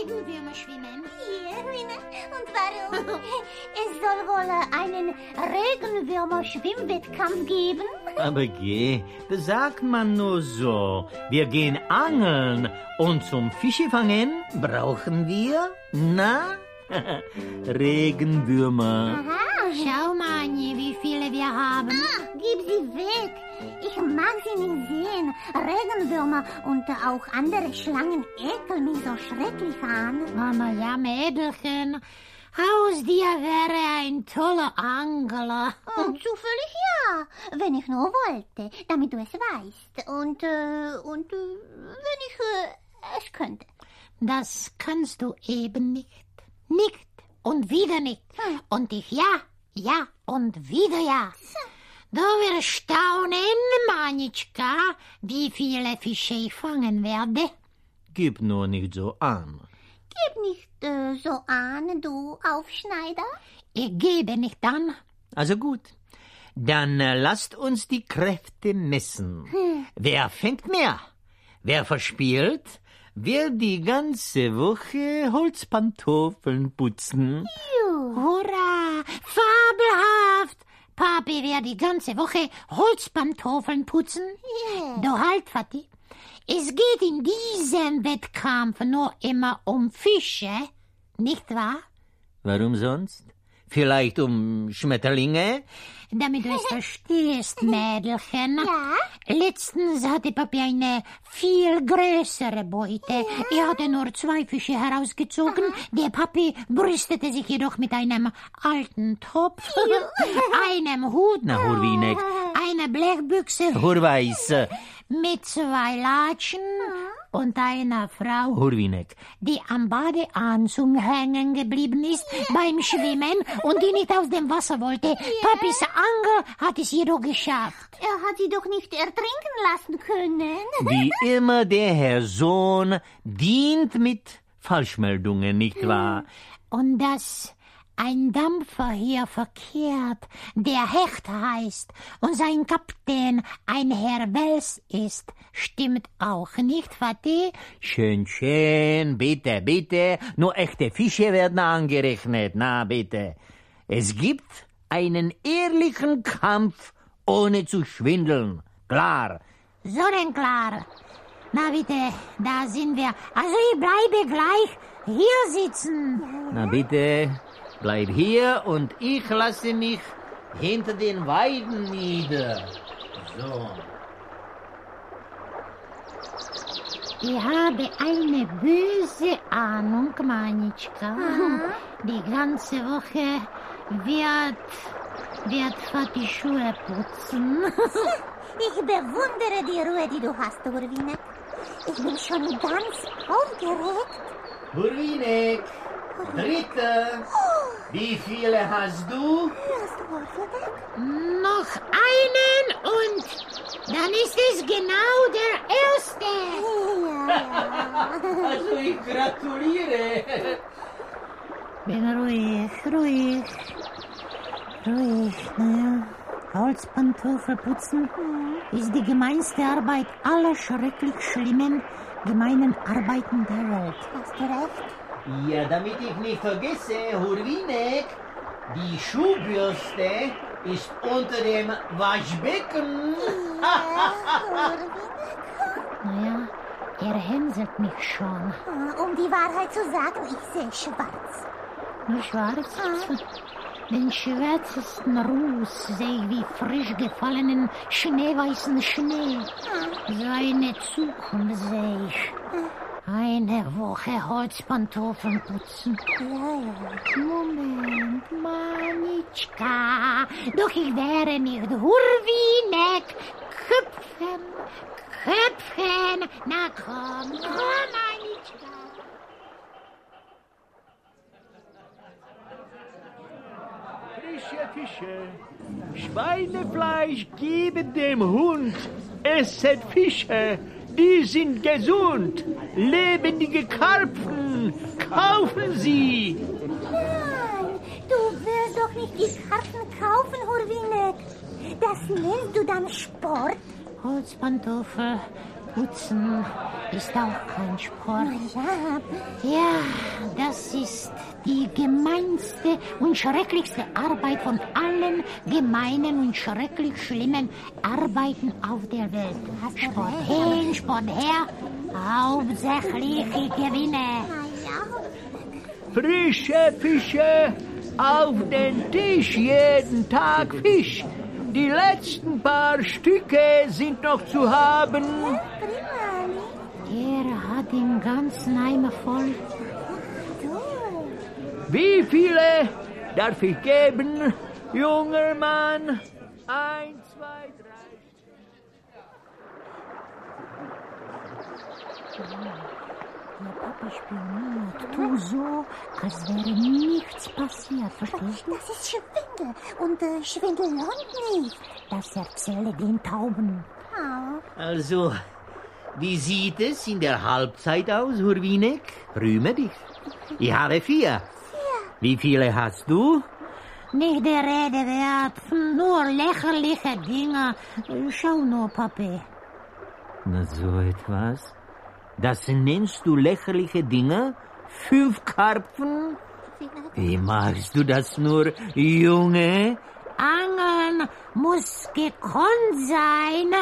Regenwürmer schwimmen? Ja, und warum? Es soll wohl einen Regenwürmer-Schwimmwettkampf geben. Aber geh, das sagt man nur so. Wir gehen angeln und zum Fischefangen brauchen wir, Regenwürmer. Aha. Schau mal, Anje, wie viele wir haben. Gib sie weg. Ich mag sie nicht sehen. Regenwürmer und auch andere Schlangen ekeln mich so schrecklich an. Mama, ja, Mädelchen. Aus dir wäre ein toller Angler. Zufällig ja, wenn ich nur wollte, damit du es weißt. Und wenn ich es könnte. Das kannst du eben nicht. Nicht und wieder nicht. Und ich ja und wieder ja. Du wirst staunen, Manitschka, wie viele Fische ich fangen werde. Gib nur nicht so an. Gib nicht so an, du Aufschneider. Ich gebe nicht an. Also gut, dann lasst uns die Kräfte messen. Wer fängt mehr? Wer verspielt? Wer die ganze Woche Holzpantoffeln putzen? Hurra, fabelhaft. Papi wird die ganze Woche Holzpantoffeln putzen. Du halt, Vati. Es geht in diesem Wettkampf nur immer um Fische, nicht wahr? Warum sonst? Vielleicht um Schmetterlinge? Damit du es verstehst, Mädelchen. Ja? Letztens hatte Papi eine viel größere Beute. Er hatte nur 2 Fische herausgezogen. Der Papi brüstete sich jedoch mit einem alten Topf, einem Hut, Na, Hurwinek. einer Blechbüchse Hurweis. mit 2 Latschen und einer Frau, Hurwinek. die am Badeanzug hängen geblieben ist beim Schwimmen und die nicht aus dem Wasser wollte. Papis Angel hat es jedoch geschafft. Er hat sie doch nicht ertrinken lassen können. Wie immer der Herr Sohn dient mit Falschmeldungen, nicht wahr? Und dass ein Dampfer hier verkehrt, der Hecht heißt und sein Kapitän ein Herr Wels ist, stimmt auch nicht, Vati? Schön, schön, bitte, bitte. Nur echte Fische werden angerechnet, na bitte. Es gibt einen ehrlichen Kampf, ohne zu schwindeln. Klar. So denn klar. Na bitte, da sind wir. Also ich bleibe gleich hier sitzen. Na bitte, bleib hier und ich lasse mich hinter den Weiden nieder. So. Ich habe eine böse Ahnung, Manitschka. Die ganze Woche wird Vati Schuhe putzen. Ich bewundere die Ruhe, die du hast, Hurwinek. Ich bin schon ganz aufgeregt. Hurwinek, Dritte. Wie viele hast du? Hast du Hurwinek? Noch einen und dann ist es genau der Erste. Ja. Also ich gratuliere. Bin ruhig. Naja, Holzpantoffel putzen ist die gemeinste Arbeit aller schrecklich schlimmen, gemeinen Arbeiten der Welt. Hast du recht? Ja, damit ich nicht vergesse, Hurwinek, die Schuhbürste ist unter dem Waschbecken. Naja, er hänselt mich schon. Um die Wahrheit zu sagen, ich sehe schwarz. Nur schwarz? Den schwärzesten Ruß sehe ich wie frisch gefallenen schneeweißen Schnee. Seine Zukunft sehe ich. Eine Woche Holzpantoffeln putzen. Ja. Moment, Manitschka. Doch ich wäre nicht Hurwinek. Köpfen. Na komm, Manitschka. Frische Fische, Schweinefleisch geben dem Hund, esset Fische, die sind gesund, lebendige Karpfen, kaufen Sie. Nein, du willst doch nicht die Karten kaufen, Hurwinek. Das nennst du dann Sport? Holzpantoffel Putzen ist auch kein Sport. Ja, Ja, das ist die gemeinste und schrecklichste Arbeit von allen gemeinen und schrecklich schlimmen Arbeiten auf der Welt. Sport hin, Sport her, hauptsächlich ich gewinne. Frische Fische auf den Tisch, jeden Tag Fisch. Die letzten paar Stücke sind noch zu haben. Er hat den ganzen Eimer voll. Wie viele darf ich geben, junger Mann? 1, 2, 3. Der Papa spioniert. Tu so, als wäre nichts passiert, verstehst du? das ist Schwindel. Und Schwindel lohnt nicht. Das erzähle den Tauben. Also, wie sieht es in der Halbzeit aus, Hurwinek? Rühme dich. Ich habe 4. Wie viele hast du? Nicht der Rede wert, nur lächerliche Dinge. Schau nur, Papi. Na, so etwas? Das nennst du lächerliche Dinge? 5 Karpfen? Wie machst du das nur, Junge? Angeln muss gekonnt sein.